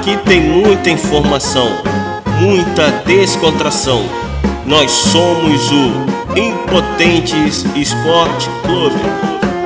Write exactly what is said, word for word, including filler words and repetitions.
Aqui tem muita informação, muita descontração. Nós somos o Impotentes Esporte Clube.